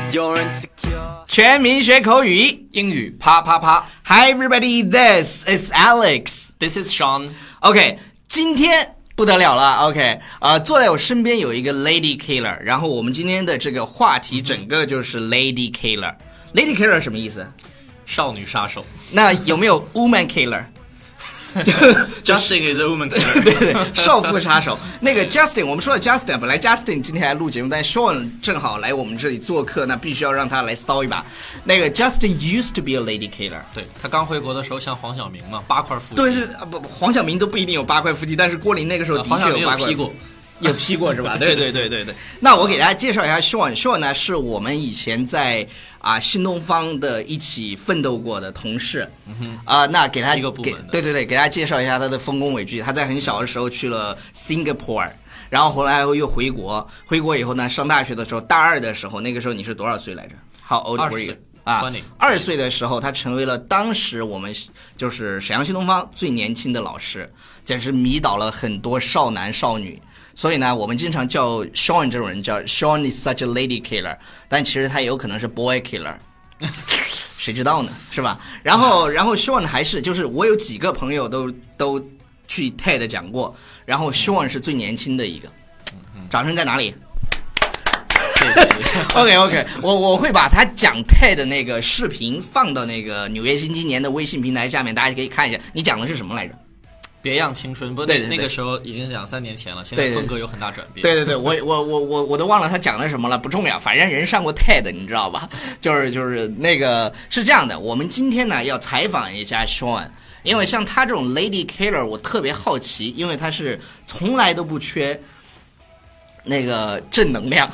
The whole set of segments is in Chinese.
全民学口语， 英语啪啪啪。 Hi everybody, this is Alex. This is Sean. OK, 今天不得了了。OK, 坐在我身边有一个 Lady Killer， 然后我们今天的这个话题整个就是 Lady Killer。Lady Killer 什么意思？ 少女杀手。 那有没有 Woman Killer？Justin is a woman killer. 对对，少妇杀手。那个 Justin， 我们说的 Justin， 本来 Justin 今天来录节目，但 Sean 正好来我们这里做客，那必须要让他来骚一把。那个 Justin used to be a lady killer。 对，他刚回国的时候像黄晓明嘛，8块腹肌。 对对不，黄晓明都不一定有8块腹肌，但是郭林那个时候的确有8块。 黄晓明有 P 过。 有 P 过是吧？对。那我给大家介绍一下 Sean 呢，是我们以前在新东方的一起奋斗过的同事。那给他一个部门的。 对，给大家介绍一下他的丰功伟绩。他在很小的时候去了 Singapore， 然后后来又回国以后呢，上大学的时候，大2的时候，那个时候你是多少岁来着？ How old were you？ 20岁的时候，他成为了当时我们就是沈阳新东方最年轻的老师，简直迷倒了很多少男少女。所以呢，我们经常叫 Sean 这种人叫 Sean is such a lady killer， 但其实他也有可能是 boy killer， 谁知道呢，是吧？然后 Sean 还是就是我有几个朋友都去 TED 讲过，然后 Sean 是最年轻的一个。掌声在哪里？ 谢谢。 OK， 我会把他讲 TED 的那个视频放到那个纽约新青年的微信平台下面，大家可以看一下。你讲的是什么来着？ 别样青春，不对，那个时候已经是2-3年前了，现在风格有很大转变。 对，我都忘了他讲的什么了，不重要，反正人上过 TED， 你知道吧？就是那个是这样的，我们今天呢要采访一下 Sean， 因为像他这种 Lady Killer， 我特别好奇，因为他是从来都不缺那个正能量。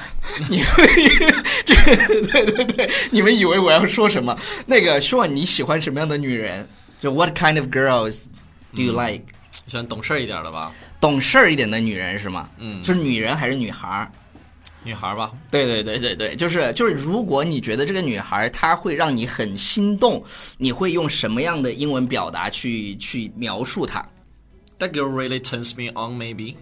对，你们以为我要说什么？那个 Sean， 你喜欢什么样的女人？就 What kind of girls do you like？ 喜欢懂事一点的吧？ 懂事一点的女人是吗？是女人还是女孩？ 女孩吧。 对，就是如果你觉得这个女孩她会让你很心动，你会用什么样的英文表达去描述她？ That girl really turns me on, maybe.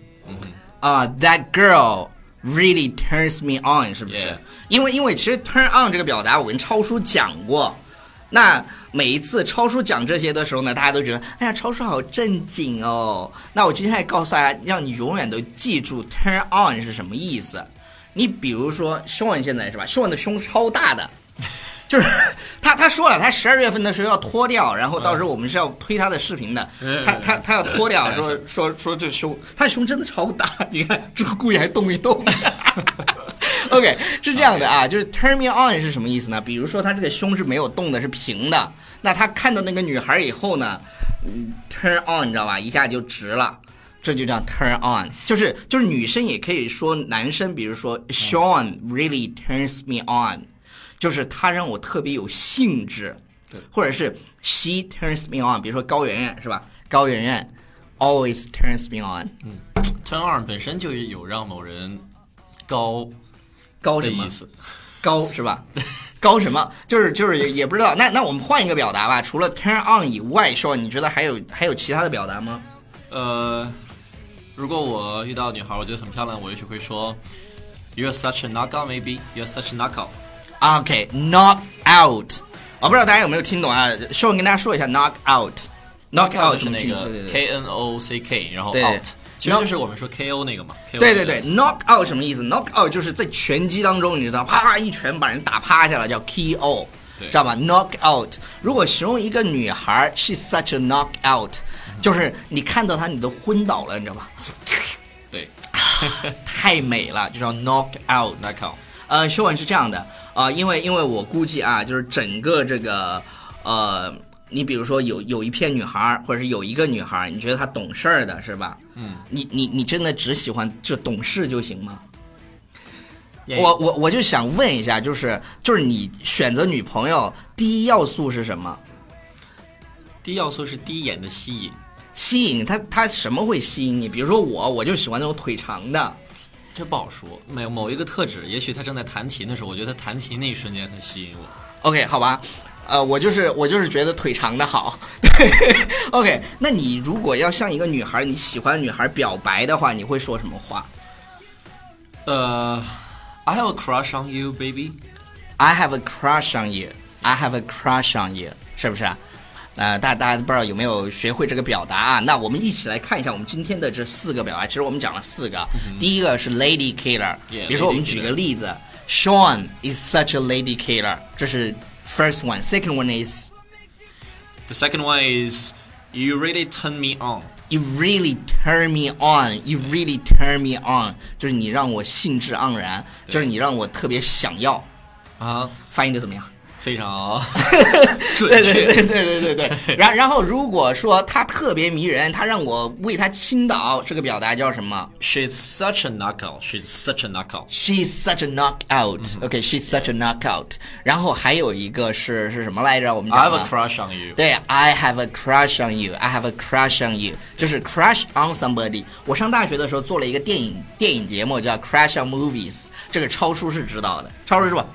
That girl really turns me on， 是不是？ Yeah. 因为其实 turn on 这个表达我跟超叔讲过。那每一次超叔讲这些的时候呢，大家都觉得，哎呀，超叔好正经哦。那我今天还告诉大家，让你永远都记住 turn on 是什么意思。你比如说 Sean 现在是吧 ，Sean 的胸超大的，就是他说了，他12月份的时候要脱掉，然后到时候我们是要推他的视频的。他要脱掉，说这胸，他的胸真的超大，你看，故意还动一动。OK， 是这样的啊，就是 turn me on 是什么意思呢？比如说他这个胸是没有动的，是平的，那他看到那个女孩以后呢，turn on 你知道吧，一下就直了，这就叫 turn on。就是女生也可以说男生，比如说 Sean really turns me on， 就是他让我特别有兴致，或者是 she turns me on， 比如说高圆圆是吧？高圆圆 always turns me on。turn on 本身就有让某人高什么意思？ 高是吧？高什么？就是也不知道。那我们换一个表达吧。除了 turn on 以外，说你觉得还有其他的表达吗？ 如果我遇到女孩，我觉得很漂亮，我也许会说 You're such a knockout, maybe. You're such a knockout. knock out。我不知道大家有没有听懂啊？说我跟大家说一下 knock out。knock out 是那个 KNOCK， 然后 out。其实就是我们说 KO 那个嘛。 对 knock out 什么意思？ knock out 就是在拳击当中，你知道，啪一拳把人打趴下了，叫 KO， 知道吧？ knock out 如果形容一个女孩 she's such a knock out， 就是你看到她你都昏倒了，你知道吧？ 对， 太美了，就叫 knock out。 修文是这样的因为我估计啊，就是整个这个你比如说有一片女孩，或者是有一个女孩，你觉得她懂事儿的是吧？你真的只喜欢就懂事就行吗？我就想问一下，就是你选择女朋友第一要素是什么？ 第一要素是第一眼的吸引。 吸引她什么会吸引你？比如说我就喜欢那种腿长的。 这不好说，某一个特质，也许她正在弹琴的时候，我觉得她弹琴那一瞬间很吸引我。 OK， 好吧。我就是觉得腿长的好。OK， 那你如果要向一个女孩，你喜欢的女孩表白的话，你会说什么话？ I have a crush on you, baby. I have a crush on you. I have a crush on you. 是不是？大家不知道有没有学会这个表达啊？那我们一起来看一下我们今天的这4个表达。其实我们讲了4个，第一个是 lady killer， 比如说我们举个例子 ，Sean is such a lady killer， 这是 first one. Second one is The second one is you really turn me on. You really turn me on. You really turn me on， 就是你让我兴致盎然，就是你让我特别想要啊。 翻译的怎么样？ 非常准确， 对。然后如果说他特别迷人，他让我为他倾倒，这个表达叫什么 ？She's such a knockout. She's such a knockout. She's such a knockout. OK, she's such a knockout. 然后还有一个是什么来着？我们讲 I have a crush on you. 对 ，I have a crush on you. I have a crush on you. 就是 crush on somebody。我上大学的时候做了一个电影节目叫 Crush on Movies， 这个超叔是知道的，超叔是吧？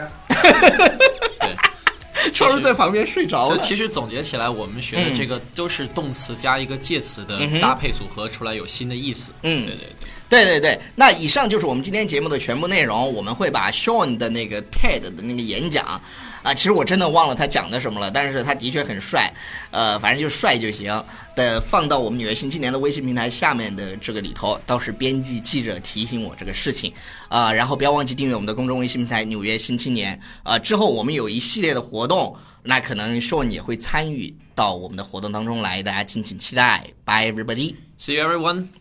对， 超叔在旁边睡着了。 其实总结起来，我们学的这个都是动词加一个介词的搭配组合出来有新的意思。 对。那以上就是我们今天节目的全部内容。我们会把 Sean 的那个 TED 的那个演讲其实我真的忘了他讲的什么了，但是他的确很帅，反正就帅就行的，放到我们纽约新青年的微信平台下面的这个里头。倒是编辑记者提醒我这个事情然后不要忘记订阅我们的公众微信平台纽约新青年之后我们有一系列的活动，那可能 Sean 也会参与到我们的活动当中来，大家敬请期待。Bye everybody. See you everyone.